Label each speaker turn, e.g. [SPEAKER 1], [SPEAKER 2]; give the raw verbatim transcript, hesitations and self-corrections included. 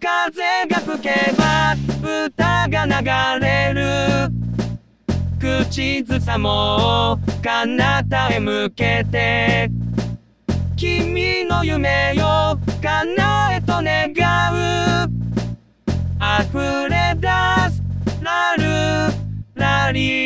[SPEAKER 1] 風が吹けば歌が流れる。口ずさもう彼方へ向けて、君の夢よ叶えと願う。溢れ出すラルラリ